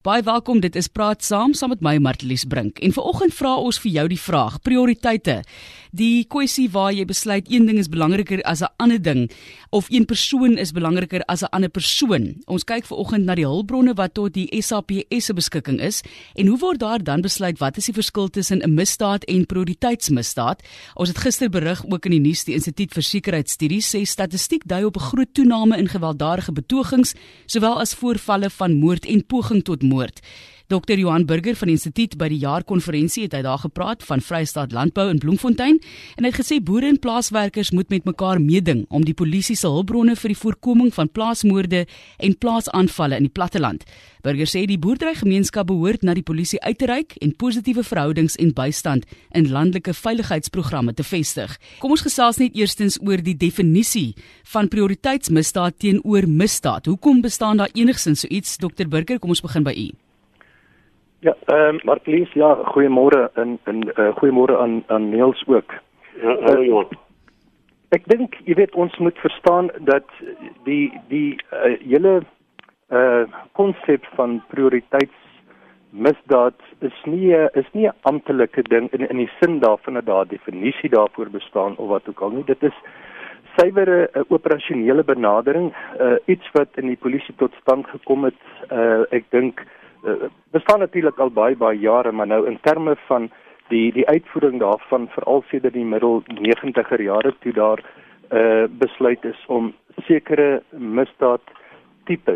Baie welkom, dit is Praat Saam met my Martelies Brink. En vanoggend vra ons vir jou die vraag, prioriteite. Die kwessie waar jy besluit een ding is belangriker as 'n ander ding, of een persoon is belangriker as 'n ander persoon. Ons kyk vanoggend na die hulpbronne wat tot die SAPS se beskikking is, en hoe word daar dan besluit wat is die verskil tussen 'n misdaad en prioriteitsmisdaad? Ons het gister berig ook in die nuus, die Instituut vir Sekuriteitsstudies sê statistiek dui op 'n groot toename in gewelddadige betogings, sowel as voorvalle van moord en poging tot moord. Dr. Johan Burger van die Instituut by die jaarkonferensie het hy daar gepraat van Vrystaat Landbou in Bloemfontein en hy het gesê boere en plaaswerkers moet met mekaar meeding om die polisie se hulpbronne vir die voorkoming van plaasmoorde en plaasaanvalle in die platteland. Burger sê die boerderygemeenskap behoort na die polisie uit te reik en positiewe verhoudings en bystand in landelike veiligheidsprogramme te vestig. Kom ons gesels net eerstens oor die definisie van prioriteitsmisdaad teenoor misdaad. Hoekom bestaan daar enigsins so iets? Dr. Burger, kom ons begin by u. Ja, Martelies, ja, goeiemôre en goeiemôre aan Niels ook. Ja, hallo. Ek dink, jy weet, ons moet verstaan dat die hele konsep van prioriteitsmisdaad is nie 'n amptelike ding in die sin daarvan dat daar 'n definisie daarvoor bestaan of wat ook al nie. Dit is suiwer 'n operasionele benadering, iets wat in die polisie tot stand gekom het, ek dink bestaan natuurlik al baie jare, maar nou in terme van die uitvoering daarvan, veral sedert die middel 90er jare toe daar besluit is om sekere misdaadtipes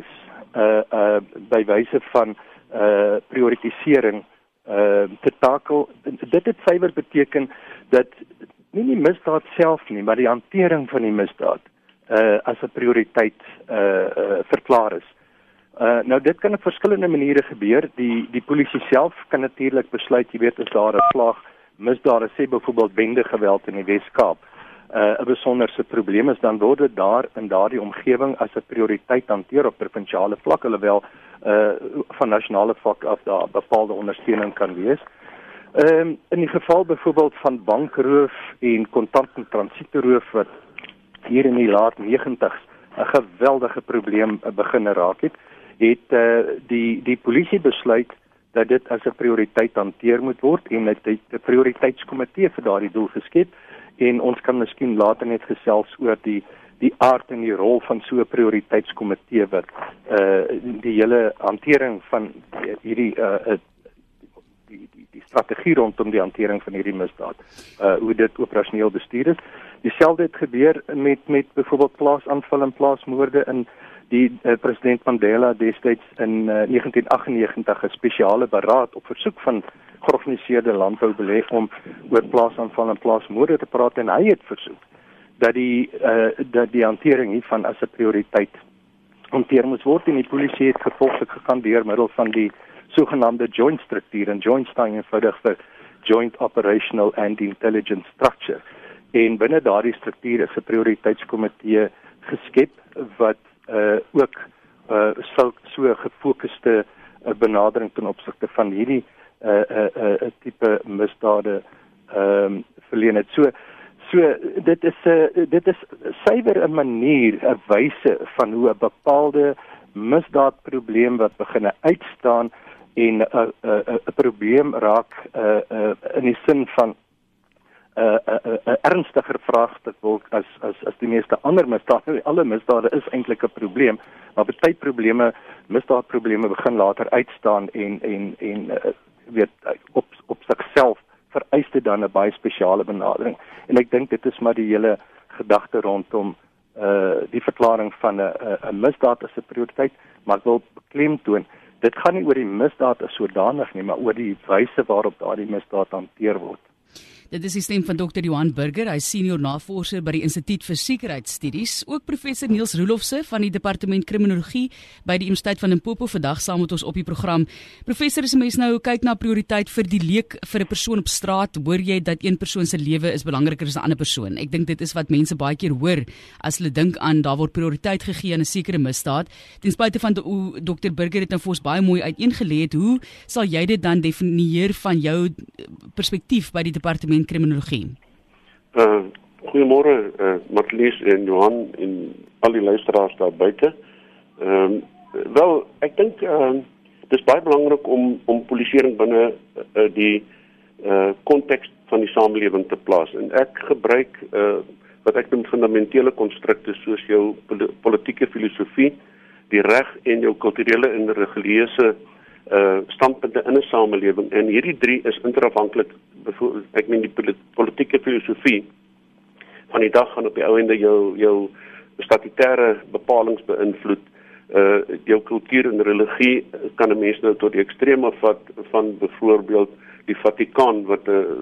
by wyse van prioritisering te takel. Dit het suiwer beteken dat nie die misdaad self nie, maar die hantering van die misdaad as 'n prioriteit verklaar is. Nou dit kan op verskillende maniere gebeur. Die polisie self kan natuurlik besluit, jy weet, as daar 'n slag misdade, sê byvoorbeeld bendegeweld in die Wes-Kaap, 'n besonderse probleem is, dan word dit daar in daardie omgewing as 'n prioriteit hanteer op provinsiale vlak, alhoewel van nasionale vlak af daar bepaalde ondersteuning kan wees. In die geval byvoorbeeld van bankroof en kontant en transietroof wat hier in die laat 90's 'n geweldige probleem begin raak het die polisie besluit dat dit as 'n prioriteit hanteer moet word en het 'n prioriteitskomitee vir daardie doel geskep, en ons kan miskien later net gesels oor die aard en die rol van so 'n prioriteitskomitee wat die hele hantering van hierdie die strategie rondom die hantering van hierdie misdaad, hoe dit operasioneel bestuur is. Dieselfde het gebeur met byvoorbeeld plaasaanval en plaasmoorde in die president Mandela destyds in 1998 'n spesiale beraad op versoek van georganiseerde landboubeleid om oor plaasaanval en plaasmoorde te praat, en hy het versoek dat die hantering hiervan as 'n prioriteit hanteer moet word, en die polisie het gevolglik gegaan deur middel van die sogenaamde joint struktuur, en joint staan eenvoudig vir Joint Operational and Intelligence Structure. En binne daardie struktuur is 'n prioriteitskomitee geskep wat ook so gefokuste benadering ten opsigte van hierdie tipe misdade verleen het. So dit is suiwer 'n manier, 'n wyse van hoe 'n bepaalde misdaadprobleem wat begin uitstaan en 'n probleem raak in die sin van 'n ernstiger vraagstuk word as die meeste ander misdade. Alle misdade is eintlik 'n probleem, maar baie misdaadprobleme begin later uitstaan en weet op sigself vereis dit dan 'n baie spesiale benadering. En ek dink dit is maar die hele gedagte rondom die verklaring van 'n misdaad as 'n prioriteit, maar ek wil beklemtoon, dit gaan nie oor die misdaad as sodanig nie, maar oor die wyse waarop daardie misdaad hanteer word. Dit is die stem van Dr. Johan Burger, hy is senior navorser by die Instituut vir Sekuriteitsstudies. Ook professor Niels Roelofse van die Departement Kriminologie by die Universiteit van Limpopo vandag saam met ons op die program. Professor, as 'n mens nou kyk na prioriteit vir die leek vir 'n persoon op straat, hoor jy dat een persoon se lewe is belangriker as 'n ander persoon. Ek dink dit is wat mense baie keer hoor as hulle dink aan daar word prioriteit gegee aan 'n sekere misdaad. Ten spyte van hoe Dr. Burger het nou vir ons baie mooi uiteengelê het, hoe sal jy dit dan definieer van jou perspektief by die Departement Kriminologie? Goeiemôre, Martelies en Johan en al die luisteraars daar buite. Wel, ek dink Dit is baie belangrik om polisieering binne die konteks van die samelewing te plaas. En ek gebruik wat ek noem fundamentele konstrukte soos jou politieke filosofie, die reg en jou kulturele en religieuse standpunte in 'n samelewing. En hierdie drie is interafhanklik. Ek meen die politieke filosofie van die dag gaan op die ou ende jou statutêre bepalings beïnvloed. Jou kultuur en religie kan 'n mens nou tot die extreme vat van byvoorbeeld die Vatikaan wat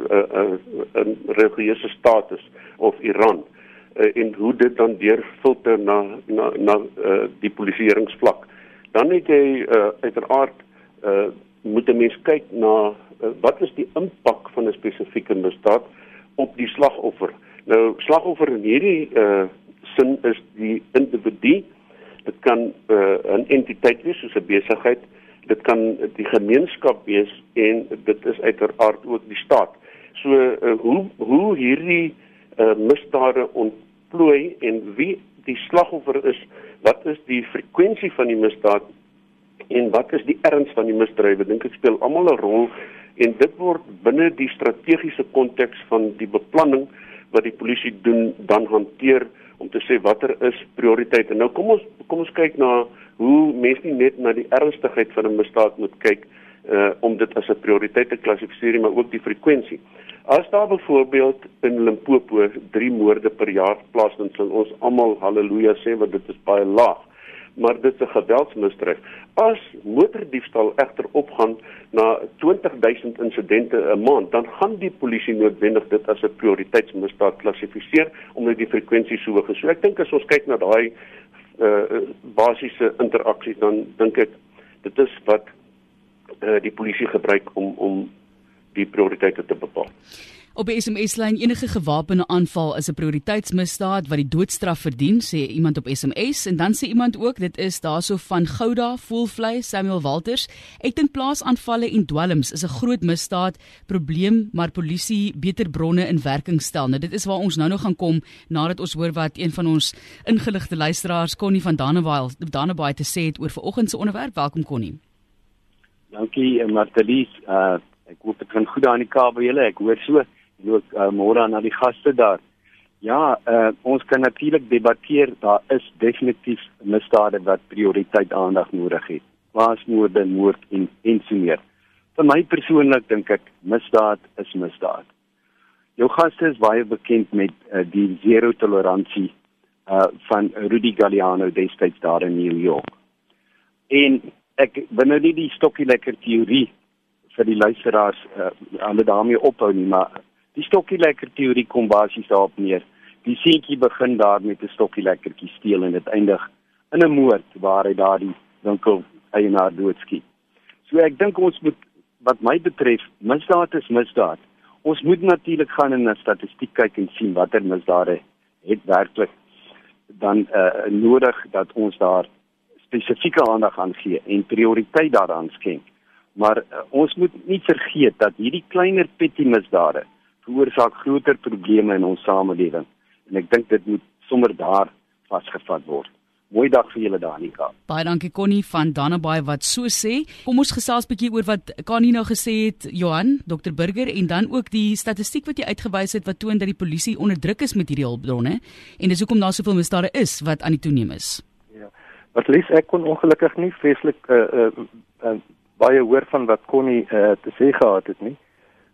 'n religieuse staat is, of Iran, en hoe dit dan deurfilter na die polisieeringsvlak. Dan het jy uiteraard moet 'n mens kyk na wat is die impak van 'n spesifieke misdaad op die slagoffer. Nou, slagoffer in hierdie sin is die individu. Dit kan 'n entiteit wees, soos 'n besigheid. Dit kan die gemeenskap wees en dit is uiteraard ook die staat. So, hoe hierdie misdade ontplooi en wie die slagoffer is, wat is die frekwensie van die misdaad en wat is die erns van die misdrywe, dink ek speel almal 'n rol en dit word binne die strategiese konteks van die beplanning wat die polisie doen, dan hanteer om te sê watter is prioriteite. Nou kom ons kyk na hoe mense nie net na die ernstigheid van 'n misdaad moet kyk om dit as 'n prioriteit te klassifiseer, maar ook die frekwensie. As daar byvoorbeeld in Limpopo 3 moorde per jaar plaasvind, sal ons almal halleluja sê, want dit is baie laag. Maar dit is 'n geweldsmisdryf. As motordiefstal egter opgaan na 20.000 insidente 'n maand, dan gaan die polisie noodwendig dit as 'n prioriteitsmisdaad klassifiseer, omdat die frekwensie so hoog is. So ek dink as ons kyk na daai basiese interaksies, dan dink ek dit is wat die polisie gebruik om die prioriteite te bepaal. Op die SMS-lyn, enige gewapende aanval is 'n prioriteitsmisdaad wat die doodstraf verdien, sê iemand op SMS, en dan sê iemand ook, dit is daarso van Gouda, Voelvlei, Samuel Walters. Ek dink plaasaanvalle en dwelms is 'n groot misdaad, probleem, maar polisie beter bronne in werking stel. Nou, dit is waar ons nou nog gaan kom, nadat ons hoor wat een van ons ingeligte luisteraars, Connie van Dannebaai, te sê het oor vanoggend se onderwerp. Welkom, Connie. Dankie, Martelies. Ek hoop dit gaan goed daar in die Kaap by julle. Ek hoor so. En ook môre aan die gaste daar. Ja, ons kan natuurlik debatteer, daar is definitief misdade wat prioriteit aandag nodig het. Plaasmoorde, moord en so meer. Vir my persoonlik dink ek, misdaad is misdaad. Jou gaste is baie bekend met die zero toleransie van Rudy Galliano destyds daar in New York. En ek wil nou nie die stokkie lekker teorie vir die luisteraars hulle daarmee ophou nie, maar die stokkie lekker teorie kom basies daarop neer. Die seentjie begin daar met 'n stokkie lekkertjie steel en dit eindig in 'n moord waar hy daar die winkel eienaar doodskiet. So ek dink ons moet, wat my betref, misdaad is misdaad. Ons moet natuurlik gaan in 'n statistiek kyk en sien watter misdade het werklik dan nodig dat ons daar spesifieke aandag aan gee en prioriteit daaraan skenk. Maar ons moet nie vergeet dat hierdie kleiner petty misdade veroorsaak groter probleme in ons samelewing. En ek dink dit moet sommer daar vasgevat word. Mooi dag vir julle daar in die Kaap. Baie dankie Connie van Dannebaai wat so sê. Kom ons gesels 'n bietjie oor wat Connie nou gesê het, Johan, Dr. Burger, en dan ook die statistiek wat jy uitgewys het wat toon dat die polisie onder druk is met hierdie hulpbronne en dis hoekom daar soveel misdade is wat aan die toeneem is. Ja. Wat lees ek kon ongelukkig nie vreeslik baie hoor van wat Connie te sê gehad het nie.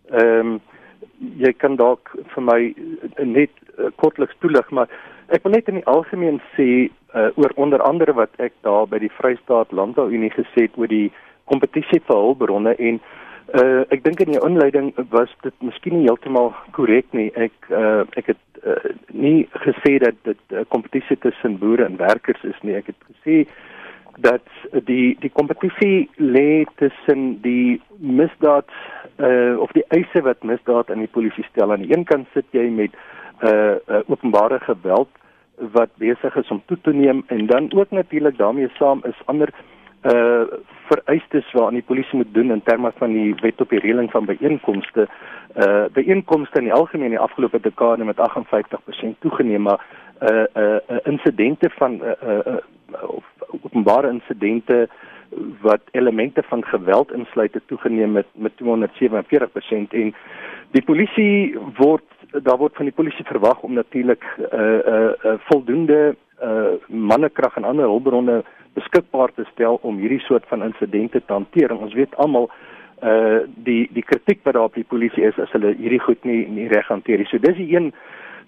Jy kan dalk vir my net kortliks toelig, maar ek wil net in die algemeen sê oor onder andere wat ek daar by die Vrystaat Landbouunie gesê het oor die kompetisie vir hulpbronne en ek dink in die inleiding was dit miskien nie heeltemal korrek nie. Ek het nie gesê dat dit kompetisie tussen boere en werkers is nie. Ek het gesê dat die kompetisie lê tussen die misdaad of die eise wat misdaad aan die polisie stel. Aan die een kant sit jy met openbare geweld wat besig is om toe te neem en dan ook natuurlik daarmee saam is ander vereistes wat die polisie moet doen in terme van die wet op die reëling van byeenkomste. Byeenkomste in die algemeen in die afgelope dekade met 58% toegeneem, maar insidente van of openbare insidente wat elemente van geweld insluit het toegeneem met 247% en die polisie daar word van die polisie verwag om natuurlik voldoende mannekrag en ander hulpbronne beskikbaar te stel om hierdie soort van insidente te hanteer. En ons weet almal die kritiek wat daar op die polisie is as hulle hierdie goed nie reg hanteer. So dis die een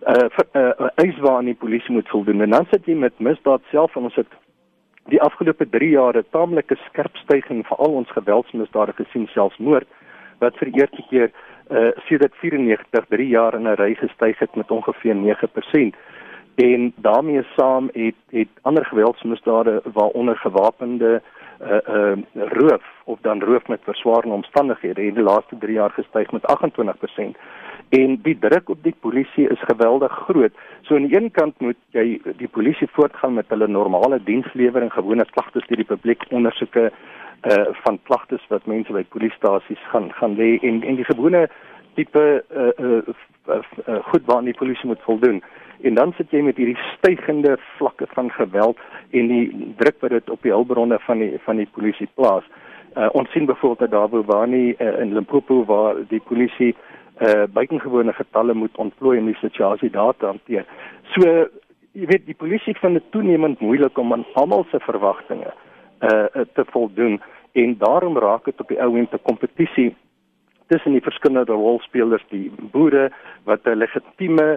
eis waaraan die polisie moet voldoen. En dan sit jy met misdaad self en ons het die afgelope 3 jaar 'n taamlike skerp stygings vir al ons geweldsmisdade gesien, selfs moord, wat vir die eerste keer sedert 94 3 jaar in 'n ry gestyg het met ongeveer 9%. En daarmee saam het ander geweldsmisdade waaronder gewapende roof of dan roof met verswaarende omstandighede in die laaste 3 jaar gestyg met 28%. En die druk op die polisie is geweldig groot. So aan die een kant moet jy die polisie voortgaan met hulle normale dienslewering, gewone klagtes deur die publiek, ondersoeke van klagtes wat mense by polisiestasies gaan lê en die gewone tipe goed waaraan die polisie moet voldoen. En dan sit jy met hierdie stygende vlakke van geweld en die druk wat dit op die hulpbronne van die polisie plaas. Ons sien byvoorbeeld daar Bobani in Limpopo waar die polisie buitengewone getalle moet ontplooi om die situasie daar te hanteer. So, jy weet, die polisie vind dit toenemend moeilik om aan almal se verwagtinge te voldoen en daarom raak dit op die ou end 'n kompetisie tussen die verskillende rolspelers, die boere wat 'n legitieme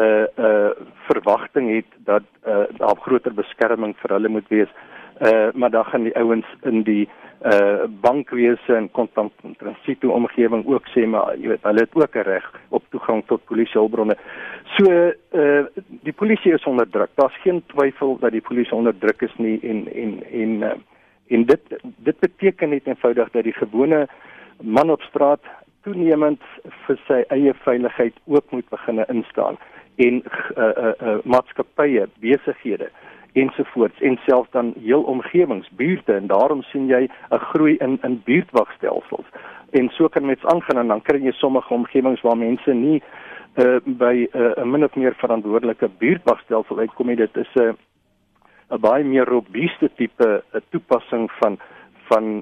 verwagting het dat daar groter beskerming vir hulle moet wees, maar dan gaan die ouens in die bankwese en transito omgewing ook sê, maar jy weet, hulle het ook 'n reg op toegang tot polisiehulpbronne. So die polisie is onder druk. Daar's geen twyfel dat die polisie onder druk is nie en dit beteken net eenvoudig dat die gewone man op straat toenemend vir sy eie veiligheid ook moet begin instaan en maatskappye, besighede ensovoorts en selfs dan heel omgewings, buurte en daarom sien jy 'n groei in buurtwagstelsels. En so kan mens aangaan en dan kry jy sommige omgewings waar mense nie by 'n min of meer verantwoordelike buurtwagstelsel uitkom nie. Dit is 'n baie meer robuuste tipe toepassing van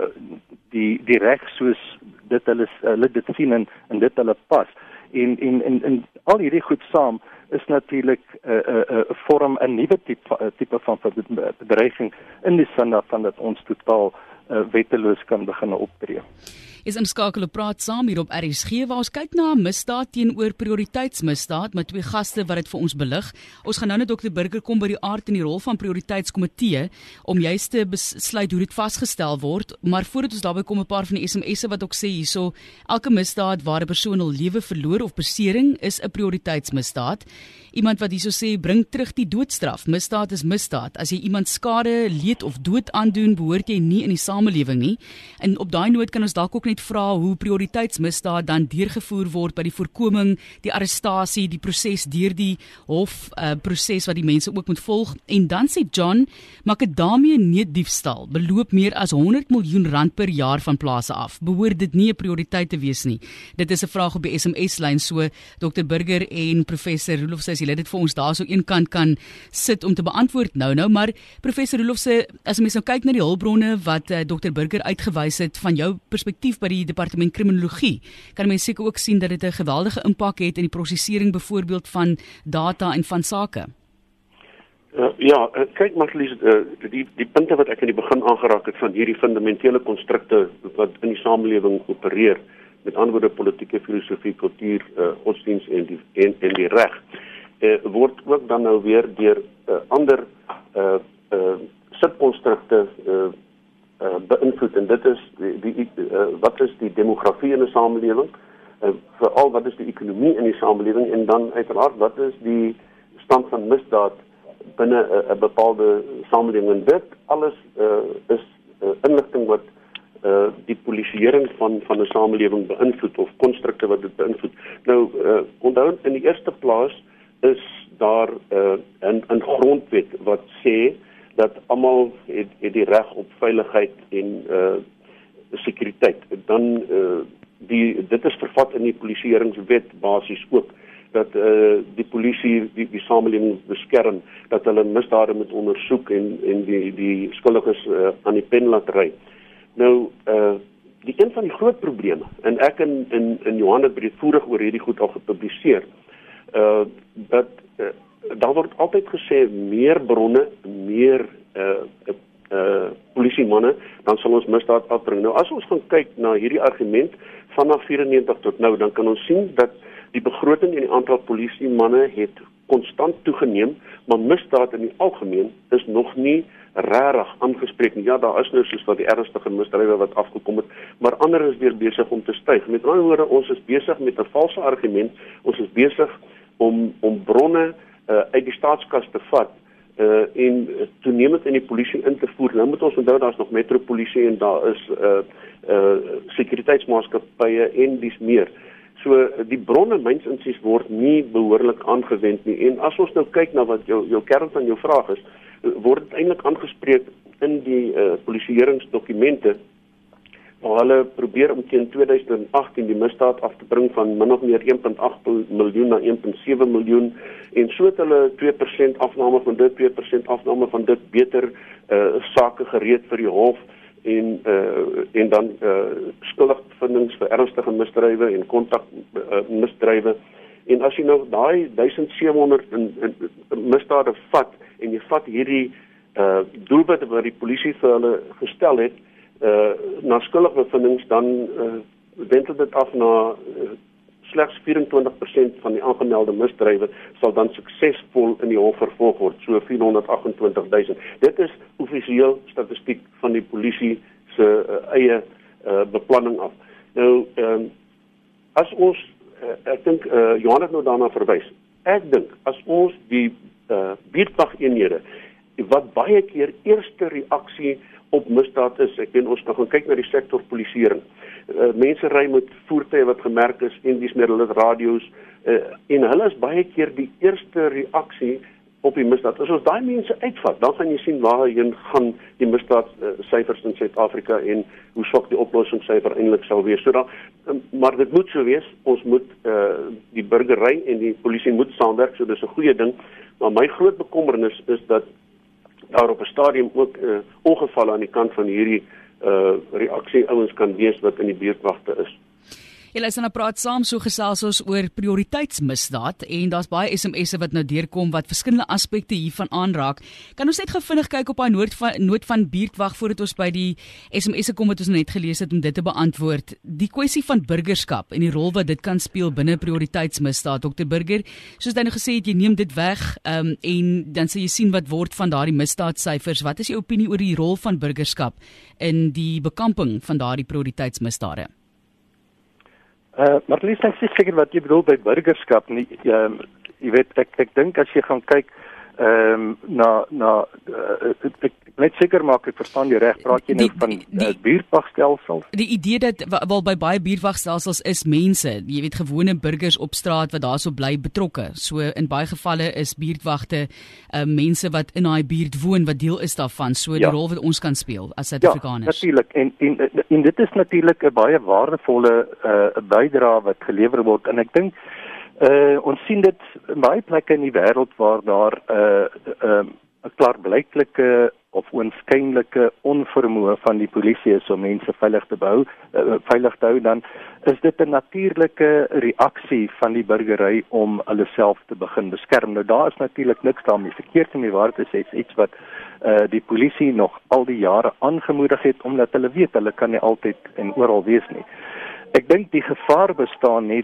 die reg soos dit hulle dit sien en dit hulle pas. En al hierdie goed saam is natuurlik vorm 'n nuwe tipe van bedreiging in die sin daarvan dat ons totaal wetteloos kan begin optree. Is inskakel op praat saam hier op RSG waar ons kyk na misdaad teenoor prioriteitsmisdaad met twee gaste wat dit vir ons belig. Ons gaan nou net Dr. Burger kom by die aard en die rol van prioriteitskomitee om juist te besluit hoe dit vasgestel word, maar voordat ons daarby kom 'n paar van die SMS'e wat ook sê hierso, elke misdaad waar 'n persoon hul lewe verloor of besering is 'n prioriteitsmisdaad. Iemand wat hierso sê, bring terug die doodstraf. Misdaad is misdaad. As jy iemand skade, leed of dood aandoen, behoort jy nie in die samelewing nie. En op daai noot kan ons dalk ook net vra hoe prioriteitsmisdaad dan deurgevoer word by die voorkoming, die arrestasie, die proses deur die hof proses wat die mense ook moet volg. En dan sê John, makadamie neutdiefstal beloop meer as 100 miljoen rand per jaar van plase af. Behoort dit nie 'n prioriteit te wees nie? Dit is 'n vraag op die SMS-lyn, so Dr. Burger en Professor Roelof sê, jy dit vir ons daar so een kant kan sit om te beantwoord nou, maar Professor Roelof sê, as mens nou kyk na die hulpbronne wat Dr. Burger uitgewys het van jou perspektief by die departement kriminologie, kan mens seker ook sien dat dit 'n geweldige impak het in die prosesering byvoorbeeld van data en van sake. Kyk Marlies, die punte wat ek in die begin aangeraak het van hierdie fundamentele konstrukte wat in die samelewing opereer, met ander woorde politieke filosofie, kultuur, godsdienst en die reg, word ook dan nou weer deur ander subkonstrukte beïnvloed, en dit is wat is die demografie in 'n samelewing, veral wat is die ekonomie in die samelewing, en dan uiteraard wat is die stand van misdaad binne 'n bepaalde samelewing. En dit alles is inligting wat die polisieering van 'n samelewing beïnvloed, of konstrukte wat dit beïnvloed. Nou, onthou, in die eerste plaas is daar 'n grondwet wat sê dat almal het die reg op veiligheid en sekuriteit. Dan dit is vervat in die polisieeringswet basies ook. dat die polisie die samelewing beskerm, dat hulle misdade moet ondersoek en die skuldiges aan die pen laat ry. Nou, die een van die groot probleme, en ek in Johan het breedvoerig oor hierdie goed al gepubliseer, dat daar word altyd gesê, meer bronne, meer polisiemanne, dan sal ons misdaad afbring. Nou, as ons gaan kyk na hierdie argument, vanaf 94 tot nou, dan kan ons sien dat die begroting en die aantal polisiemanne het konstant toegeneem, maar misdaad in die algemeen is nog nie rarig aangespreek nie. Ja, daar is nou soos wat die ernstige misdrywe wat afgekom het, maar ander is weer besig om te styg. Met ander woorde, ons is besig met 'n valse argument, ons is besig om bronne uit die staatskas te vat en toenemend in die polisie in te voer. Nou moet ons onthou, daar is nog metropolisie en daar is sekuriteitsmaatskappye en dis meer. So die bronne myns insiens word nie behoorlik aangewend nie. En as ons nou kyk na wat jou kern van jou vraag is, word dit eintlik aangespreek in die polisieeringsdokumente, waar hulle probeer om teen 2018 die misdaad af te bring van min of meer 1.8 miljoen na 1.7 miljoen, en so het hulle 2% afname van dit, 2% afname van dit, beter sake gereed vir die hof, en dan skuldigbevindings vir ernstige misdrywe en kontakmisdrywe. En as jy nou daai 1700 misdade vat, en jy vat hierdie doelwitte wat die polisie vir hulle gestel het, na skuldigbevindings, dan wendel dit af na slegs 24% van die aangemelde misdrywe sal dan suksesvol in die hof vervolg word, so 428.000. Dit is offisieel statistiek van die polisie se eie beplanning af. Nou, as ons, ek dink, Johan het nou daarna verwys, ek dink, as ons die buurtwageenhede, wat baie keer eerste reaksie op misdaad is, ek weet ons kan gaan kyk na die sektor polisieering, mense ry met voertuie wat gemerk is, en dis meer hulle radio's, en hulle is baie keer die eerste reaksie op die misdaad. As ons daai mense uitvat, dan gaan jy sien waarheen gaan die misdaadsyfers in Suid-Afrika en hoe swak die oplossingssyfer eintlik sal wees. So maar dit moet so wees, ons moet die burgery en die polisie moet saamwerk, so dis 'n goeie ding, maar my groot bekommernis is dat daar op 'n stadium ook ongevalle aan die kant van hierdie reaksie ouens kan wees wat in die buurtwagte is. Julle is nou praat saam, so gesels ons oor prioriteitsmisdaad, en daar's baie SMS'e wat nou deurkom wat verskillende aspekte hiervan aanraak. Kan ons net vinnig kyk op daai noot van buurtwag voordat ons by die SMS'e kom wat ons net gelees het om dit te beantwoord. Die kwessie van burgerskap en die rol wat dit kan speel binne prioriteitsmisdaad. Dr. Burger, soos jy nou gesê het, jy neem dit weg en dan sal jy sien wat word van daardie misdaadsyfers. Wat is jou opinie oor die rol van burgerskap in die bekamping van daardie prioriteitsmisdade? Maar Lies, ek is seker wat jy bedoel by burgerskap nie. Jy weet, ek dink as jy gaan kyk ek net seker maak ek verstaan jy reg, praat jy nou van buurtwagstelsels? Die idee dat wel by baie buurtwagstelsels is mense, jy weet, gewone burgers op straat wat daarso bly betrokke. So in baie gevalle is buurtwagte mense wat in daai buurt woon wat deel is daarvan. So die rol wat ons kan speel as Suid-Afrikaners. Ja, natuurlik. En dit is natuurlik 'n baie waardevolle bydrae wat gelewer word, en ek dink ons sien dit in baie plekke in die wêreld waar daar 'n klaarblyklike of oënskynlike onvermoë van die polisie is om mense veilig te hou, dan is dit 'n natuurlike reaksie van die burgery om hulle self te begin beskerm. Nou daar is natuurlik niks daarmee verkeerd nie, waar dit is iets wat die polisie nog al die jare aangemoedig het, omdat hulle weet hulle kan nie altyd en oral wees nie. Ek dink die gevaar bestaan net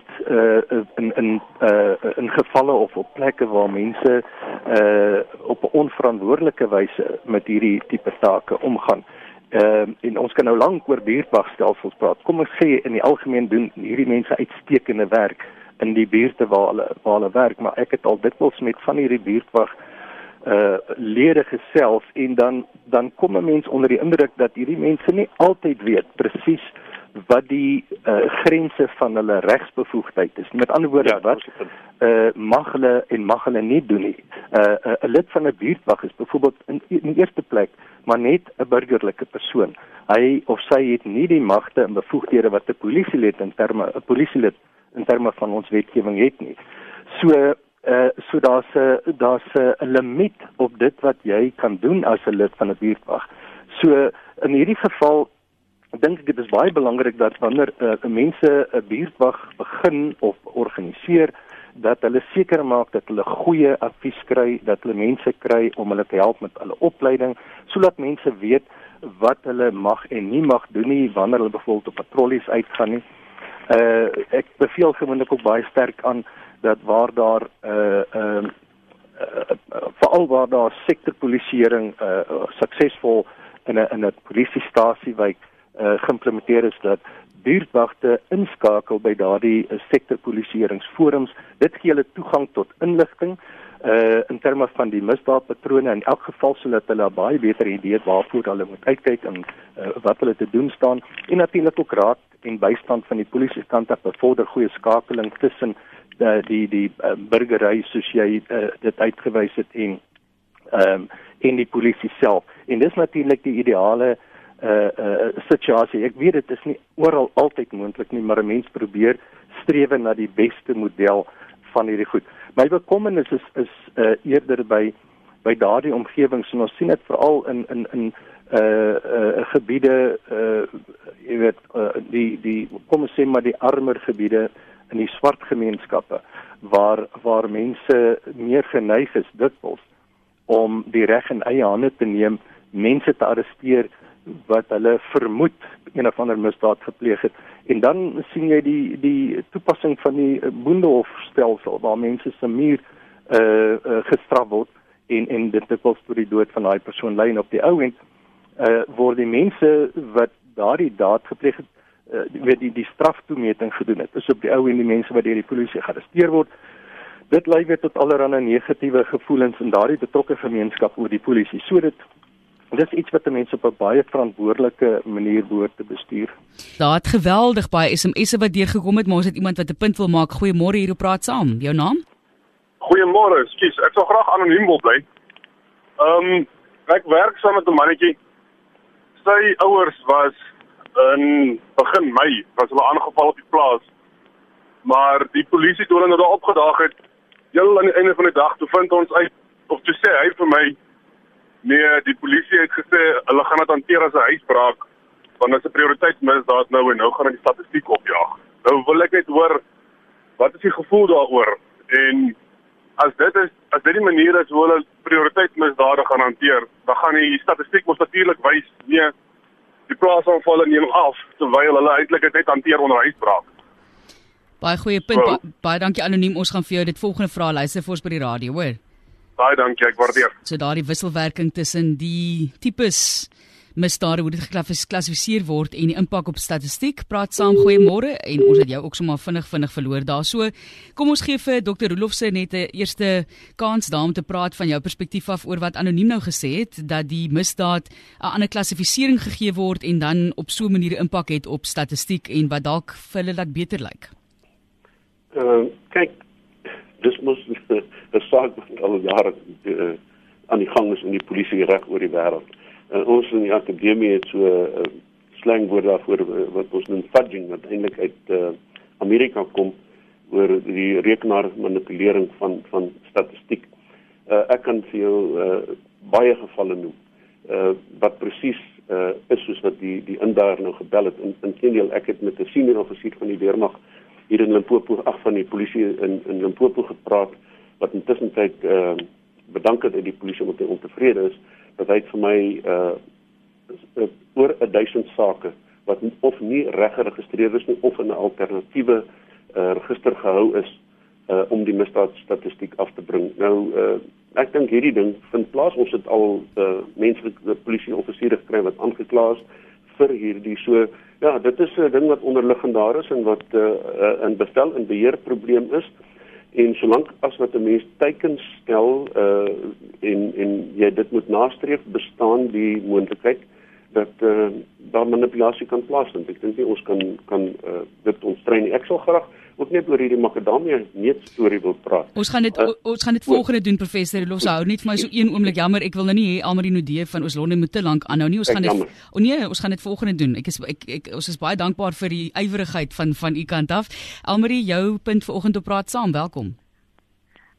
in gevalle of op plekke waar mense op 'n onverantwoordelike wyse met hierdie tipe take omgaan. En ons kan nou lank oor buurtwagstelsels praat. Kom ons sê in die algemeen doen hierdie mense uitstekende werk in die buurte waar hulle werk, maar ek het al dikwels met van hierdie buurtwag lede gesels, en dan kom 'n mens onder die indruk dat hierdie mense nie altyd weet presies wat die grense van hulle regsbevoegdheid is. Met ander woorde, wat mag hulle nie doen nie. 'n lid van 'n buurtwag is byvoorbeeld in die eerste plek maar net 'n burgerlike persoon. Hy of sy het nie die magte en bevoegdhede wat 'n polisielid in terme van ons wetgewing het nie. So daar's 'n limiet op dit wat jy kan doen as 'n lid van 'n buurtwag. So in hierdie geval dink ek dit is baie belangrik dat wanneer mense 'n buurtwag begin of organiseer, dat hulle seker maak dat hulle goeie advies kry, dat hulle mense kry om hulle te help met hulle opleiding, sodat mense weet wat hulle mag en nie mag doen nie wanneer hulle byvoorbeeld op patrollies uitgaan nie. Ek beveel gewoonlik ook baie sterk aan dat waar daar veral waar daar sektorpolisieering suksesvol in 'n polisiestasiewijk geïmplementeer is, dat buurtwagte inskakel by daardie sektorpolisieeringsforums. Dit gee hulle toegang tot inligting in terme van die misdaadpatrone, in elk geval sodat hulle 'n baie beter idee het waarvoor hulle moet uitkyk en wat hulle te doen staan, en natuurlik ook raad en bystand van die polisiekant af bevorder goeie skakeling tussen die burgery soos jy dit uitgewys het en die polisie self. En dis natuurlik die ideale situasie. Ek weet dit is nie oral altyd moontlik nie, maar 'n mens probeer strewe na die beste model van hierdie goed. My bekommernis is eerder by daardie omgewings, en ons sien dit veral in gebiede, jy weet, die kom ons sê maar die armer gebiede in die swart gemeenskappe waar mense meer geneig is dikwels om die reg in eie hande te neem, mense te arresteer wat hulle vermoed een of ander misdaad gepleeg het. En dan sien jy die toepassing van die boendehofstelsel waar mense se muur gestraf word en dit dikwels tot die dood van daai persoon lei, en op die ou end word die mense wat daardie daad gepleeg het die straftoemeting gedoen het. Dis op die ou end die mense wat deur die polisie gearresteer word. Dit lei weer tot allerlei negatiewe gevoelens in daardie betrokke gemeenskap oor die polisie. So dit is iets wat mense op 'n baie verantwoordelike manier behoort te bestuur. Daar het geweldig baie SMS'e wat deurgekom het, maar ons het iemand wat 'n punt wil maak. Goeiemôre, hier op Praat Saam. Jou naam? Goeiemôre, ekskuus. Ek sou graag anoniem wil bly. Ek werk saam met 'n mannetjie. Sy ouers was in begin Mei was hulle aangeval op die plaas. Maar die polisie toe hulle daar opgedaag het, heel aan die einde van die dag, toe vind ons uit, of toe sê hy vir my, nee, die polisie het gesê, hulle gaan dit hanteer as 'n huisbraak, want dit is 'n prioriteitsmisdaad nou, en nou gaan hulle die statistiek opjaag. Nou wil ek net hoor, wat is die gevoel daaroor? En as dit die manier is hoe hulle prioriteitsmisdade gaan hanteer, dan gaan die statistiek mos natuurlik wys, nee, die plaasaanvalle neem af, terwyl hulle eintlik dit net hanteer onder huisbraak. Baie goeie punt, baie dankie anoniem, ons gaan vir jou dit volgende vraag luister vir ons by die radio, hoor. Baie dankie, ek waardeer. So daardie wisselwerking tussen die tipes misdade, hoe dit geklassifiseer word en die impak op statistiek. Praat Saam, goeiemôre, en ons het jou ook sommer vinnig verloor daar. So, kom ons gee vir Dr. Roelofse net 'n eerste kans daar om te praat van jou perspektief af oor wat anoniem nou gesê het, dat die misdaad 'n ander klassifisering gegee word en dan op so 'n manier impak het op statistiek en wat dalk vir hulle laat beter lyk. Kyk, dis mos 'n saak wat al jare aan die gang is in die polisie reg oor die wêreld. Ons in die akademie het so slangwoord daarvoor wat ons noem fudging, wat eintlik uit Amerika kom oor die rekenaarmanipulering van statistiek. Ek kan vir jou baie gevalle noem wat presies is soos wat die indaier nou gebel het. Inteendeel, ek het met 'n senior offisier van die weermag hier in Limpopo, van die polisie in Limpopo gepraat, wat intussen tyd bedank het uit die polisie omdat hy ontevrede is, dat hy vir my oor 1000 sake wat of nie reg geregistreer is nie, of in 'n alternatiewe register gehou is om die misdaadstatistiek af te bring. Nou, ek dink hierdie ding vind plaas. Ons het al menslike polisie-offisiere gekry wat aangekla is vir hierdie. So, ja, dit is 'n ding wat onderliggend daar is en wat 'n bevel en beheer probleem is. En solank as wat 'n mens teikens stel en jy dit moet nastreef, bestaan die moontlikheid dat daar manipulasie kan plaasvind. Ek dink nie ons kan dit ontstrein nie. Ek sal graag ook net oor hierdie makadamia neut storie wil praat. Ons gaan dit volgende doen, professor Roelofse. Hou net vir my so een oomblik, jammer, ek wil nou nie hê Almarie Nudee van Oos-London moet te lank aanhou nie. Ons gaan dit volgende doen. Ons is baie dankbaar vir die ywerigheid van u kant af. Almarie, jou punt vanoggend op Praat Saam, welkom.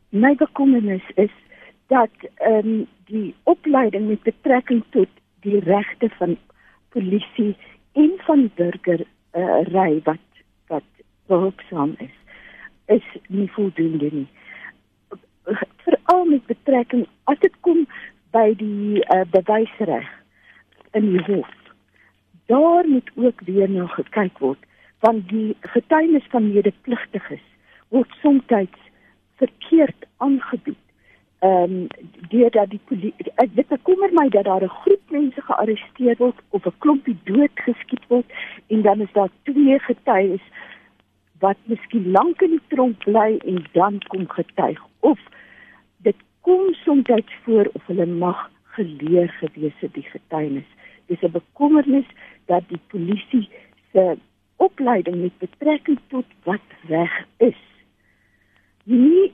my bekommernis is dat die opleiding met betrekking tot die regte van polisie en van burgery wat behulpsaam is nie voldoende nie. Veral met betrekking, as dit kom by die bewysreg in die hof, daar moet ook weer na gekyk word, want die getuienis van medepligtiges word soms verkeerd aangebied. Deurdat die polisie, dit bekommer my dat daar 'n groep mense gearresteer word of 'n klompie doodgeskiet word en dan is daar 2 getuies wat miskien lank in die tronk bly en dan kom getuig. Of dit kom soms voor of hulle mag geleer gewees het die getuienis. Dis 'n bekommernis dat die polisie se opleiding met betrekking tot wat reg is, nie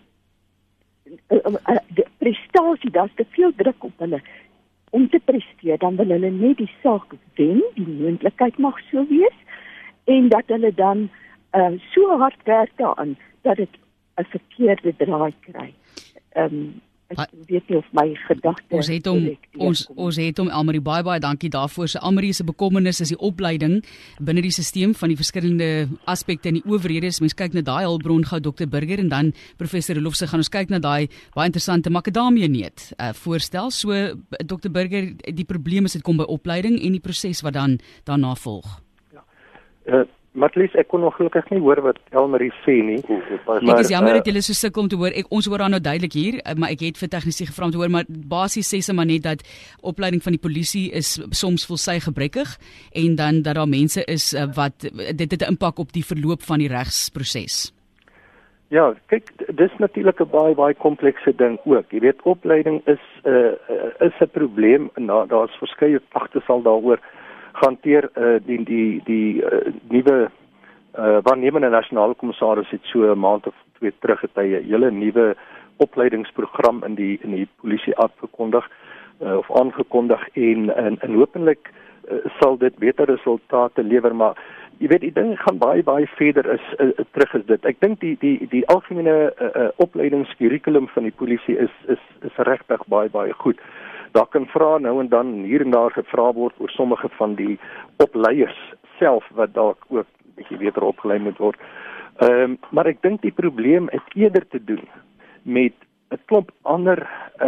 de prestasie, daar is te veel druk op hulle om te presteer, dan wil hulle net die saak wen, die moontlikheid mag so wees, en dat hulle dan so hard werk daaraan, dat dit 'n verkeerde draai kry. Ek weet nie of my gedagte Ons het hom Elmarie, baie dankie daarvoor. So Elmarie se bekommernis is die opleiding binne die stelsel van die verskillende aspekte in die owerhede. As mens kyk na daai hulpbron gou Dr Burger en dan professor Rolofse gaan ons kyk na daai baie interessante makadamia neut voorstel. So Dr Burger, die probleem is dit kom by opleiding en die proses wat dan daarna volg. Ja. Martlies, ek kon nog gelukkig nie hoor wat Elmarie sê nie. Ek is jammer dat julle so sukkel om te hoor. Ons hoor haar nou duidelik hier, maar ek het vir tegnisie gevra om te hoor, maar basies sê sy maar net dat opleiding van die polisie is soms vol sy gebrekkig en dan dat daar mense is wat dit het 'n impak op die verloop van die regsproses. Ja, kyk, dis natuurlik 'n baie komplekse ding ook. Jy weet, opleiding is 'n probleem en daar's verskeie klagte sal daaroor hanteer. Die nuwe waarnemende nasionale kommissaris het so 'n maand of 2 terug het hy 'n hele nuwe opleidingsprogram in die polisie afgekondig of aangekondig en hopelik sal dit beter resultate lewer, maar jy weet, die ding gaan baie verder terug is dit. Ek dink die algemene opleidingskurrikulum van die polisie is regtig baie goed. Daar kan vra nou en dan hier en daar gevra word oor sommige van die opleiers self wat dalk ook 'n bietjie beter opgelei moet word. Maar ek dink die probleem het eerder te doen met 'n klomp ander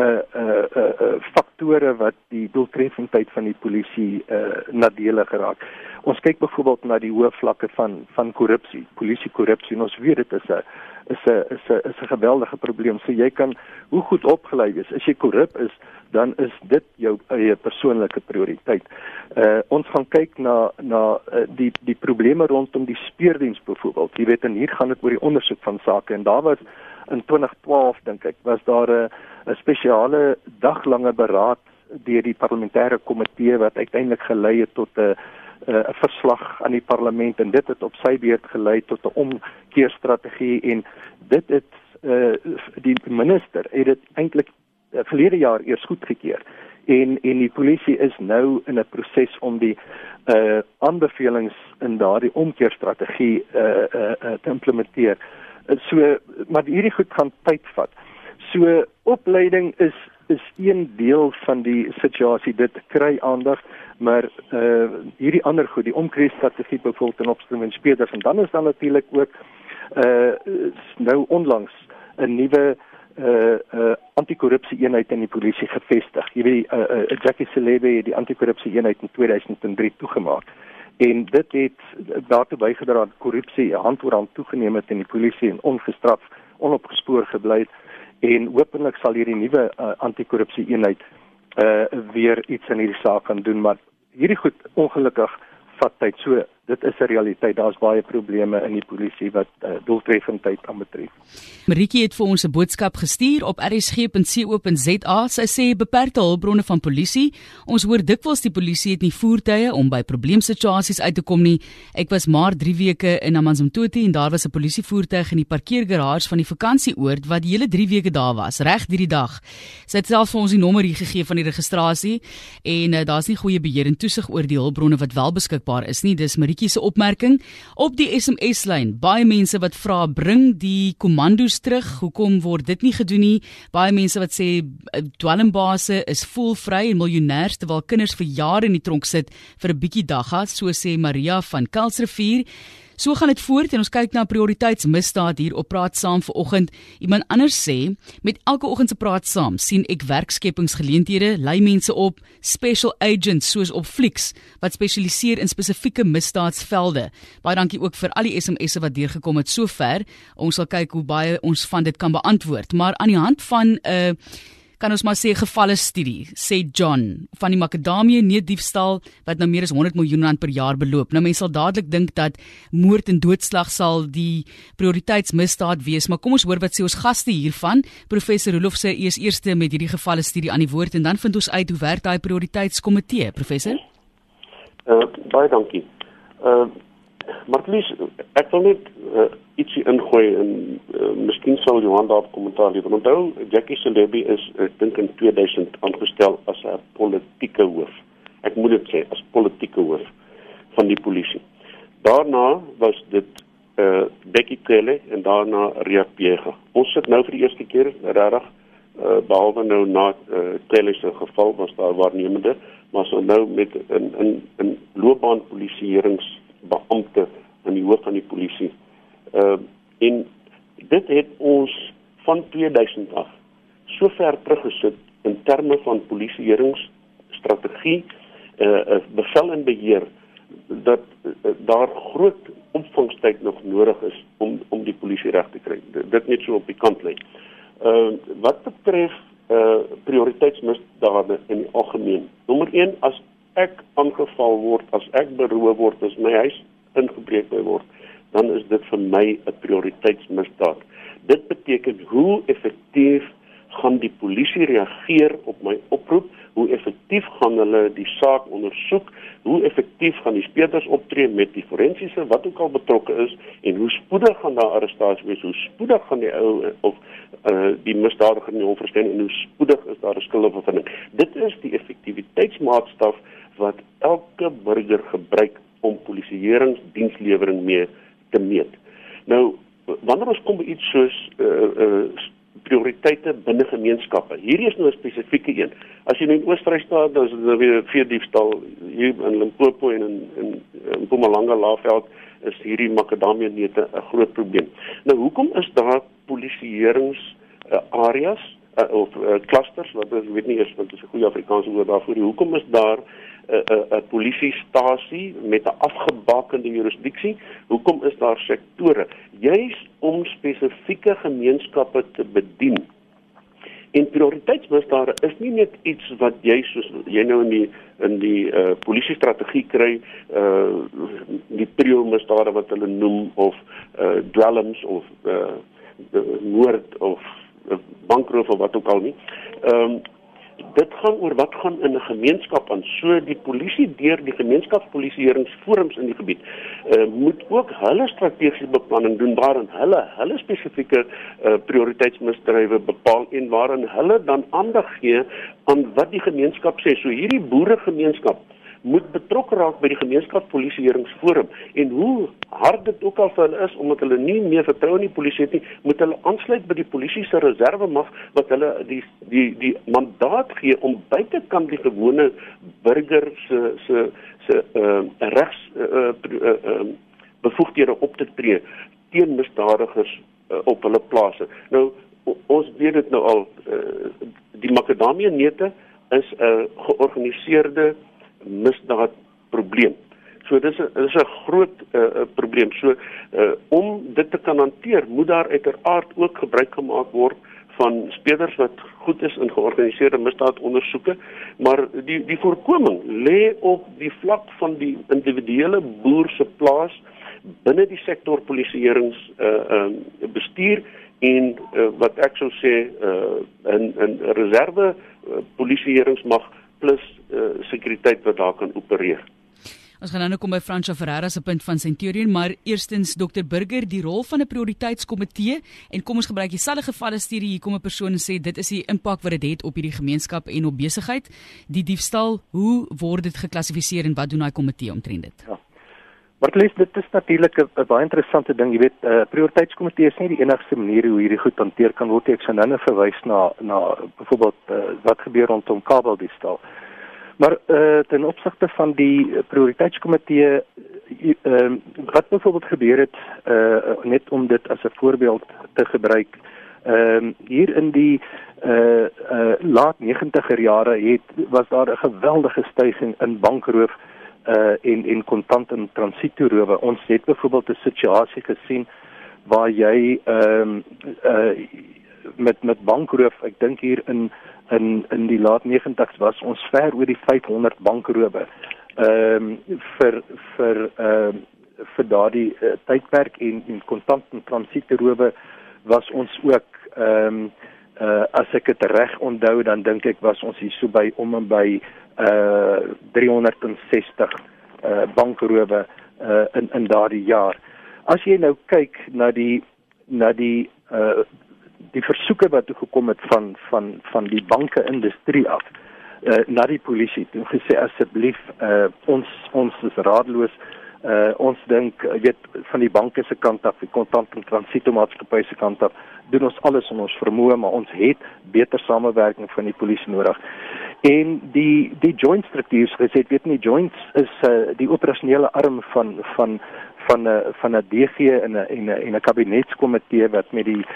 faktore wat die doeltreffendheid van die polisie nadelig geraak. Ons kyk byvoorbeeld na die hoë vlakke van korrupsie, polisiekorrupsie, en ons weet dit is 'n geweldige probleem. So jy kan hoe goed opgelei wees, as jy korrup is, dan is dit jou eie persoonlike prioriteit. Ons gaan kyk na die probleme rondom die speurdiens byvoorbeeld. Jy weet, en hier gaan dit oor die ondersoek van sake, en daar was in 2012 dink ek, was daar 'n spesiale daglange beraad deur die parlementêre komitee wat uiteindelik gelei het tot 'n verslag aan die parlement, en dit het op sy beurt gelei tot 'n omkeerstrategie, en dit het die minister het dit eintlik verlede jaar eers goedgekeur. En die polisie is nou in 'n proses om die aanbevelings in daardie omkeerstrategie te implementeer. Maar hierdie goed gaan tyd vat. So opleiding is een deel van die situasie, dit kry aandag, maar hierdie ander goed, die omkeerstrategie byvoorbeeld ten opsigte van speurders, en dan is dan natuurlik ook nou onlangs 'n nuwe antikorrupsie eenheid in die polisie gevestig. Jy weet, Jackie Selebe het die antikorrupsie eenheid in 2003 toegemaak. En dit het daartoe bygedra dat korrupsie hand oor hand toegeneem het in die polisie en ongestraf, onopgespoor gebly het. En hopelik sal hierdie nuwe antikorrupsie eenheid weer iets in hierdie saak kan doen, maar hierdie goed ongelukkig vat tyd. So dit is 'n realiteit. Daar's baie probleme in die polisie wat doeltreffendheid aanbetref. Marieke het vir ons 'n boodskap gestuur op rsg.co.za. Sy sê beperkte hulpbronne van polisie. Ons hoor dikwels die polisie het nie voertuie om by probleemsituasies uit te kom nie. Ek was maar 3 weke in Amanzimtoti en daar was 'n polisievoertuig in die parkeergarage van die vakansieoord wat die hele 3 weke daar was, reg deur die dag. Sy het self vir ons die nommer hier gegee van die registrasie en daar's nie goeie beheer en toesig oor die hulpbronne wat wel beskikbaar is nie. Dis Marieke Nikkie se opmerking op die SMS-lyn. Baie mense wat vra, bring die kommandos terug. Hoekom word dit nie gedoen nie? Baie mense wat sê dwelmbase is voelvry en miljonêers terwyl kinders vir jare in die tronk sit vir 'n bietjie dagga, so sê Maria van Kuilsrivier. So gaan dit voort en ons kyk na prioriteitsmisdaad hier op Praat Saam vanoggend. Iemand anders sê, met elke oggend se Praat Saam sien ek werkskepingsgeleenthede, lei mense op, special agents soos op Flix wat spesialiseer in spesifieke misdaadsvelde. Baie dankie ook vir al die SMS'e wat deurgekom het sover. Ons sal kyk hoe baie ons van dit kan beantwoord, maar aan die hand van kan ons maar sê gevalle studie, sê John, van die makadamie neutdiefstal wat nou meer as 100 miljoen rand per jaar beloop. Nou mense sal dadelik dink dat moord en doodslag sal die prioriteitsmisdaad wees, maar kom ons hoor wat sê ons gaste hiervan. Professor Roelof sê eers eerste met hierdie gevalle studie aan die woord en dan vind ons uit hoe werk daai prioriteitskomitee, professor? Baie dankie. Martlies, ek wil net ietsie ingooi en miskien sal Johan daarop kommentaar lewer. Onthou, Jackie Celebi is, ek dink in 2000 aangestel as 'n politieke hoof. Ek moet dit sê, as politieke hoof van die polisie. Daarna was dit Becky Cele en daarna Ria Piega. Ons sit nou vir die eerste keer, regtig, behalwe nou na Cele se geval was daar waarnemende, maar so nou met 'n loopbaanpolisieeringsbeampte in die hoof van die polisie. En dit het ons van 2000 af so ver teruggesit in terme van polisieeringsstrategie, bevel en beheer, dat daar groot opvangstyd nog nodig is om die polisie reg te kry. Dit net so op die kantlyn. Wat betref prioriteitsmisdade in die algemeen. Nommer 1, as ek aangeval word, as ek beroof word, as my huis ingebreek word, dan is dit vir my 'n prioriteitsmisdaad. Dit beteken hoe effektief gaan die polisie reageer op my oproep, hoe effektief gaan hulle die saak ondersoek, hoe effektief gaan die speurders optree met die forensiese wat ook al betrokke is en hoe spoedig gaan daar arrestasie wees, hoe spoedig gaan die ou of die misdadiger in die hof verskyn en hoe spoedig is daar 'n skuldbevinding. Dit is die effektiwiteitsmaatstaf wat elke burger gebruik om polisieeringsdienslewering mee te meet. Nou, wanneer ons kom by iets soos prioriteite binne gemeenskappe, hierdie is nou 'n spesifieke een. As jy nou in Oos-Vrystaat, dan is dit weer veediefstal, hier in Limpopo en in Mpumalanga Laagveld is hierdie makadamia neute 'n groot probleem. Nou, hoekom is daar polisieeringsareas of clusters, wat ek weet nie eers wat is 'n goeie Afrikaanse woord daarvoor, hoekom is daar 'n polisiestasie met 'n afgebakende jurisdiksie? Hoekom is daar sektore? Juis om spesifieke gemeenskappe te bedien. En prioriteitsmisdade is nie net iets wat jy soos jy nou in die polisiestrategie kry, die prio-misdade wat hulle noem, of dwelms of moord of bankroof of wat ook al nie. Dit gaan oor wat gaan in 'n gemeenskap aan. So die polisie deur die gemeenskapspolisieeringsforums in die gebied moet ook hulle strategiese beplanning doen waarin hulle spesifieke prioriteitsmisdrywe bepaal en waarin hulle dan aandag gee aan wat die gemeenskap sê. So hierdie boeregemeenskap moet betrokke raak by die gemeenskapspolisieeringsforum en hoe hard dit ook al vir hulle is, omdat hulle nie meer vertrou in die polisie het nie, moet hulle aansluit by die polisie se reservemag wat hulle die mandaat gee om buitekant die gewone burger se regs bevoegdhede op te tree teen misdadigers op hulle plase. Nou, ons weet dit nou al, die makadamia neute is 'n georganiseerde misdaadprobleem. So dis 'n groot probleem. So om dit te kan hanteer, moet daar uiteraard ook gebruik gemaak word van speurders wat goed is in georganiseerde misdaadondersoeke, maar die voorkoming lê op die vlak van die individuele boer se plaas binne die sektor polisieeringsbestuur en wat ek sou sê 'n reserve polisieeringsmag plus sekuriteit wat daar kan opereer. Ons gaan nou kom by Fransja Ferreira se punt van Centurion, maar eerstens Dr. Burger, die rol van 'n prioriteitskomitee, en kom ons gebruik dieselfde gevalle studie, hier kom 'n persoon en sê dit is die impak wat dit het op hierdie gemeenskap en op besigheid, die diefstal, hoe word dit geklassifiseer en wat doen daai komitee omtrent dit? Ja. Maar dit is natuurlik 'n baie interessante ding, jy weet, prioriteitskomitee is nie die enigste manier hoe hierdie goed hanteer kan word. Ek sou nou verwys na byvoorbeeld wat gebeur rondom kabeldiefstal. Maar ten opsigte van die prioriteitskomitee, wat byvoorbeeld gebeur het, net om dit as 'n voorbeeld te gebruik, hier in die laat 90er jare was daar 'n geweldige stygings in bankroof en kontant en transitoerowe. Ons het byvoorbeeld 'n situasie gesien waar jy met bankroof, ek dink hier in die laat 90's was ons ver oor die 500 bankrowe vir daardie tydperk en kontant en transitoerowe was ons ook as ek dit reg onthou, dan dink ek was ons hier so by om en by 360 bankrowe in daardie jaar. As jy nou kyk na die versoeke wat toe gekom het van die banke-industrie af na die polisie, toe gesê asseblief ons is raadloos. Ons dink, weet, van die banke se kant af, die kontant en transitomaatskappy se kant af, doen ons alles in ons vermoë, maar ons het beter samewerking van die polisie nodig. En die joint struktuur, gesê, weet nie, joints is die operasionele arm van 'n DG en 'n kabinetskomitee wat met die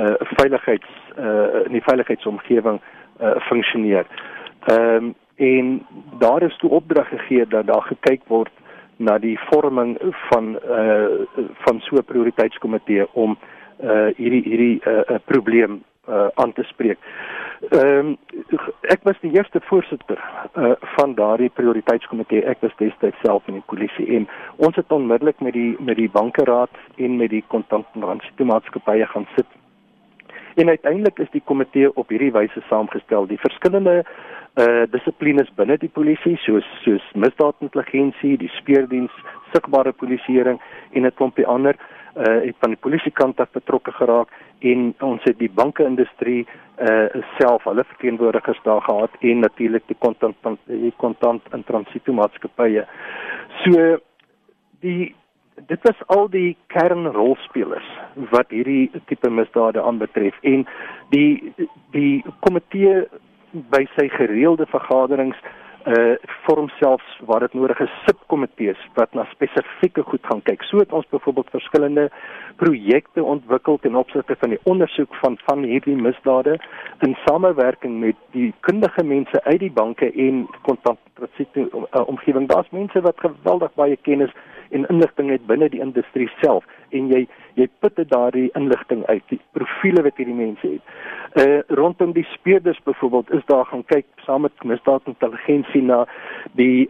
veiligheidsomgewing funksioneer. En daar is toe opdrag gegee dat daar gekyk word na die vorming van so 'n prioriteitskomitee om hierdie probleem aan te spreek. Ek was die eerste voorsitter van daardie prioriteitskomitee. Ek was destyds self in die polisie en ons het onmiddellik met die bankeraad en met die kontant en transitomaatskappye gaan sit. En uiteindelik is die komitee op hierdie wyse saamgestel. Die verskillende dissiplines binne die polisie, soos misdaadintelligensie, die speurdiens, sigbare polisieering en 'n klompie ander, het van die polisiekant af betrokke geraak en ons het die banke-industrie self, hulle verteenwoordigers daar gehad en natuurlik die kontant en transitomaatskappye. So dit was al die kernrolspelers wat hierdie tipe misdade aanbetref en die komitee by sy gereelde vergaderings vorm selfs waar dit nodig is subkomitees wat na spesifieke goed gaan kyk. So het ons byvoorbeeld verskillende projekte ontwikkel ten opsigte van die ondersoek van hierdie misdade in samewerking met die kundige mense uit die banke en kontant-transito-omgewing. Daar's mense wat geweldig baie kennis en inligting het binne die industrie self en jy putte daardie inligting uit, die profiele wat hierdie mense het. Rondom die speurders byvoorbeeld is daar gaan kyk saam met misdaadintelligensie na die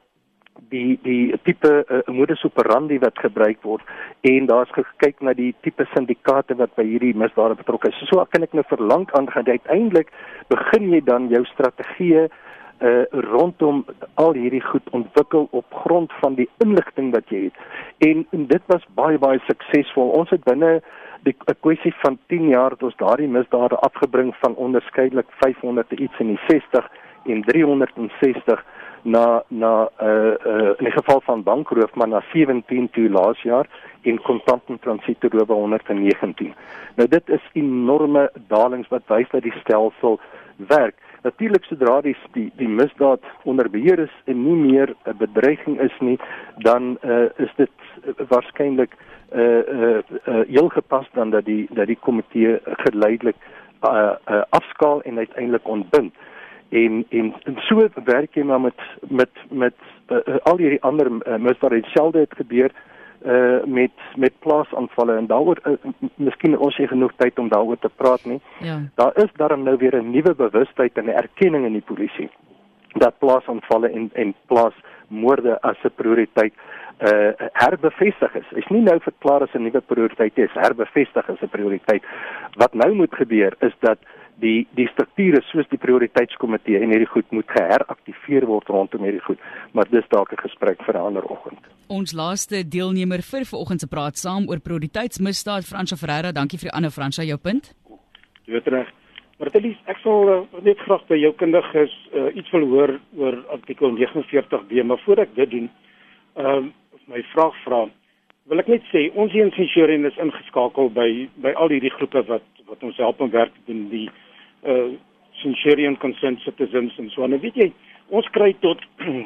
tipe modus operandi wat gebruik word en daar's gekyk na die tipe syndikaate wat by hierdie misdade betrokke is. So kan ek nou verlang aangaan. Uiteindelik begin jy dan jou strategieë rondom al hierdie goed ontwikkel op grond van die inligting wat jy het. En dit was baie, baie suksesvol. Ons het binne 'n kwessie van 10 jaar het ons daardie misdade afgebring van onderskeidelik 500 iets in die 60 en 360 na in die geval van bankroof, maar na 17 toe laas jaar en kontant en transitoerowe 119. Nou dit is enorme dalings wat wys dat die stelsel werk. Natuurlik sodra die misdaad onder beheer is en nie meer 'n bedreiging is nie, dan is dit waarskynlik heel gepas dan dat die komitee geleidelik afskaal en uiteindelik ontbind. En so werk jy maar met al hierdie ander misdade. Dieselfde het gebeur met plaasaanvalle en daaroor miskien ons het genoeg tyd om daaroor te praat nie. Ja. Daar is daarom nou weer 'n nuwe bewustheid en 'n erkenning in die polisie dat plaasaanvalle en plaasmoorde as 'n prioriteit herbevestig is. Is nie nou verklaar as 'n nuwe prioriteit is, herbevestig as 'n prioriteit. Wat nou moet gebeur is dat die strukture soos die prioriteitskomitee en hierdie goed moet geheraktiveer word rondom hierdie goed, maar dis dalk 'n gesprek vir 'n ander oggend. Ons laaste deelnemer vir vanoggend se praat saam oor prioriteitsmisdaad, Fransjo Ferreira. Dankie vir die ander, Fransjo, jou punt. Jy weet reg. Maar Telies, ek sal net graag by jou kundiges iets wil hoor oor artikel 49B, maar voor ek dit doen, my vraag vra, wil ek net sê ons hier in Centurion is ingeskakel by al hierdie groepe wat ons help en werk doen, die Centurion Concerned Citizens en so. En weet jy, ons kry tot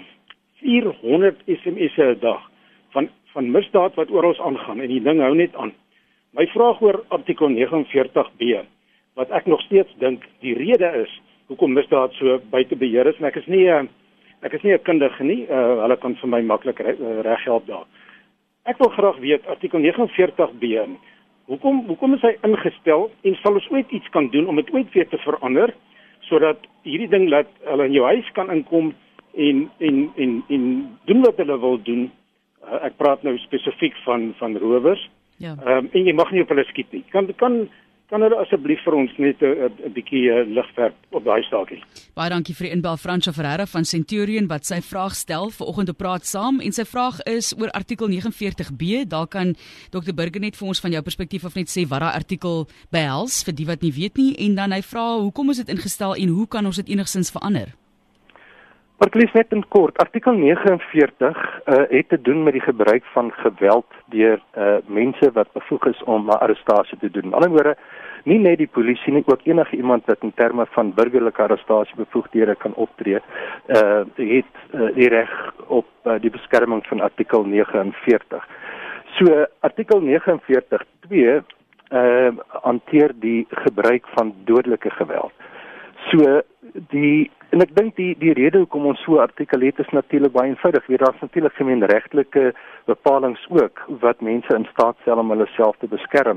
400 SMS'e 'n dag van misdaad wat oral aangaan en die ding hou net aan. My vraag oor artikel 49B, wat ek nog steeds dink die rede is hoekom misdaad so buite beheer is, en ek is nie 'n kundige nie, hulle kan vir my maklik reg help daar. Ek wil graag weet artikel 49B, hoekom is hy ingestel en sal ons ooit iets kan doen om dit ooit weer te verander sodat hierdie ding laat hulle in jou huis kan inkom en doen wat hulle wil doen. Ek praat nou spesifiek van rowers. Ja. En jy mag nie op hulle skiet nie. Kan hulle asseblief vir ons net 'n bietjie lig werp op daai staakie? Baie dankie vir die inbel, Fransjo Ferreira van Centurion wat sy vraag stel vanoggend op Praat Saam, en sy vraag is oor artikel 49B. Daar kan Dr. Burger net vir ons van jou perspektief af net sê wat daai artikel behels vir die wat nie weet nie, en dan hy vra hoekom is dit ingestel en hoe kan ons dit enigstens verander? Martelies, net in kort, artikel 49 het te doen met die gebruik van geweld deur mense wat bevoeg is om 'n arrestasie te doen. Met ander woorde, nie net die polisie nie, ook enige iemand wat in terme van burgerlike arrestasiebevoegdhede kan optree, het die reg op die beskerming van artikel 49. So artikel 49.2 hanteer die gebruik van dodelike geweld. So en ek dink die rede hoekom ons so 'n artikel het is natuurlik baie eenvoudig. Daar's natuurlik gemeenregtelike bepalinge ook wat mense in staat stel om hulle self te beskerm.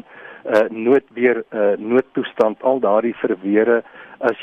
Noodtoestand, al daardie verweere as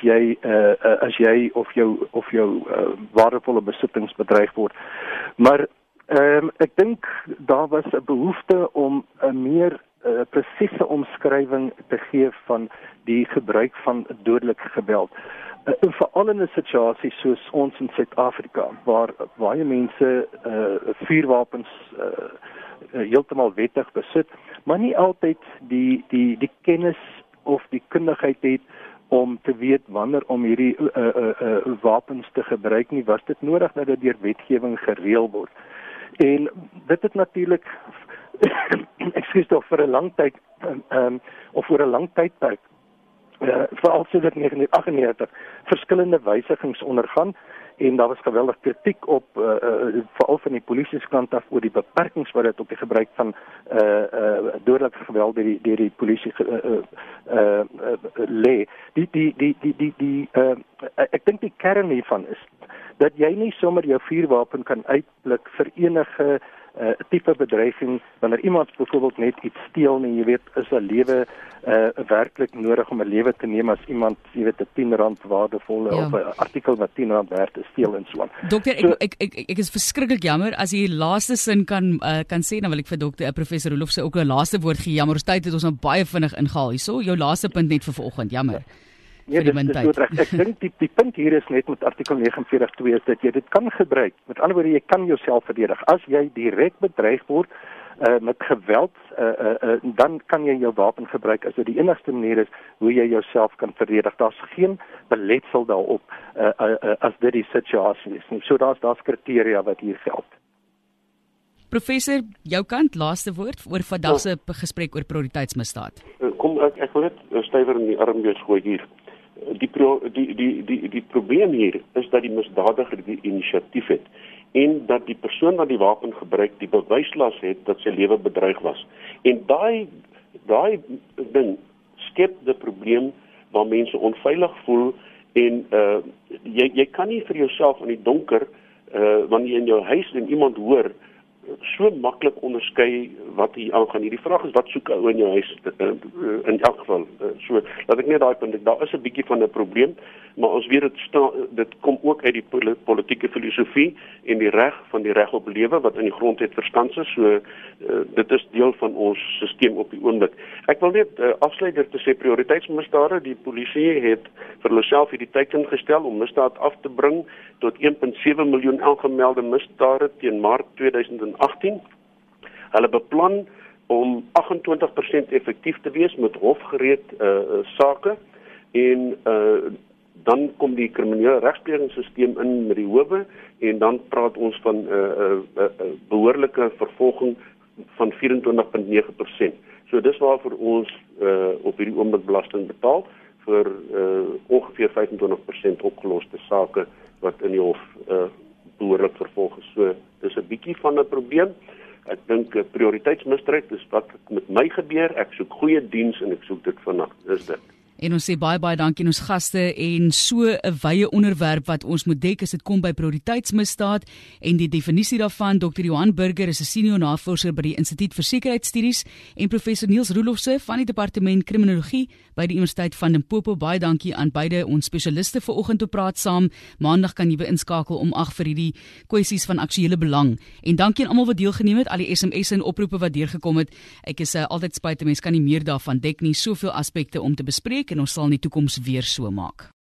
jy of jou waardevolle besittings bedreig word. Maar ek dink daar was 'n behoefte om 'n meer presiese omskrywing te gee van die gebruik van dodelike geweld. Veral in 'n situasie soos ons in Suid-Afrika, waar baie mense vuurwapens heeltemal wettig besit, maar nie altyd die kennis of die kundigheid het om te weet wanneer om hierdie wapens te gebruik nie, was dit nodig dat dit deur wetgewing gereël word. En dit het natuurlik vir 'n lang tyd of vir 'n lang tydperk veral sedert 1998 verskillende wysigings ondergaan, en daar was geweldig kritiek op veral van die polisie se kant af oor die beperkings wat dit op die gebruik van dodelike geweld deur die polisie lê. Ek dink die kern hiervan is dat jy nie sommer jou vuurwapen kan uitblik vir enige tipe bedreiging wanneer iemand byvoorbeeld net iets steel nie. Jy weet, is 'n lewe werklik nodig om 'n lewe te neem as iemand, jy weet, 'n R10 waardevolle of 'n artikel wat R10 werd te steel en so aan. Dokter, ek is verskriklik jammer as jy die laaste sin kan sê, dan wil ek vir professor Roelof se ook 'n laaste woord gee. Jammer, ons tyd het ons nou baie vinnig ingehaal hierso. Jou laaste punt net vir vanoggend, jammer. Nee, dit is goed reg. Ek dink die punt hier is net met artikel 49.2 is dat jy dit kan gebruik. Met ander woorde, jy kan jouself verdedig. As jy direk bedreig word met geweld, dan kan jy jou wapen gebruik as dit die enigste manier is hoe jy jouself kan verdedig. Daar's geen beletsel daarop as dit die situasie is nie. So daar's kriteria wat hier geld. Professor, jou kant, laaste woord oor vandag se gesprek oor prioriteitsmisdaad. Kom ek wil net stywer in die arm weer gooi hier. Die probleem hier is dat die misdadiger die inisiatief het en dat die persoon wat die wapen gebruik die bewyslas het dat sy lewe bedreig was. En daai ding skep die probleem waar mense onveilig voel en jy kan nie vir jouself in die donker wanneer jy in jou huis en iemand hoor so maklik onderskei wat hier aangaan. Die vraag is wat soek ou in jou huis in elk geval. So laat ek net daai punt. Daar is 'n bietjie van 'n probleem, maar ons weet dit kom ook uit die politieke filosofie en die reg op lewe wat in die grondwet verskans is. So dit is deel van ons stelsel op die oomblik. Ek wil net afsluit deur te sê prioriteitsmisdade. Die polisie het vir hulself hierdie teiken gestel om misdaad af te bring tot 1.7 miljoen aangemelde misdade teen Maart 2018. Hulle beplan om 28% effektief te wees met hofgereed sake en Dan kom die kriminele regsplegingsstelsel in met die howe en dan praat ons van behoorlike vervolging van 24.9%. So dis waarvoor ons op hierdie oomblik belasting betaal vir ongeveer 25% opgeloste sake wat in die hof behoorlik vervolg is. So dis 'n bietjie van 'n probleem. Ek dink prioriteitsmisdrijf is wat met my gebeur. Ek soek goeie diens en ek soek dit vanaand. Dis dit. En ons sê baie dankie aan ons gaste en so 'n wye onderwerp wat ons moet dek as dit kom by prioriteitsmisdaad en die definisie daarvan. Dr. Johan Burger is 'n senior navorser by die Instituut vir Sekuriteitsstudies en professor Niels Roelofse van die Departement Kriminologie by die Universiteit van Limpopo. Baie dankie aan beide ons spesialiste vanoggend op Praat Saam. Maandag kan jy weer inskakel om 8 vir hierdie kwessies van aktuele belang. En dankie aan almal wat deelgeneem het, al die SMS'e en oproepe wat deurgekom het. Ek is altyd spyt, mense kan nie meer daarvan dek nie, soveel aspekte om te bespreek en ons sal in die toekoms weer so maak.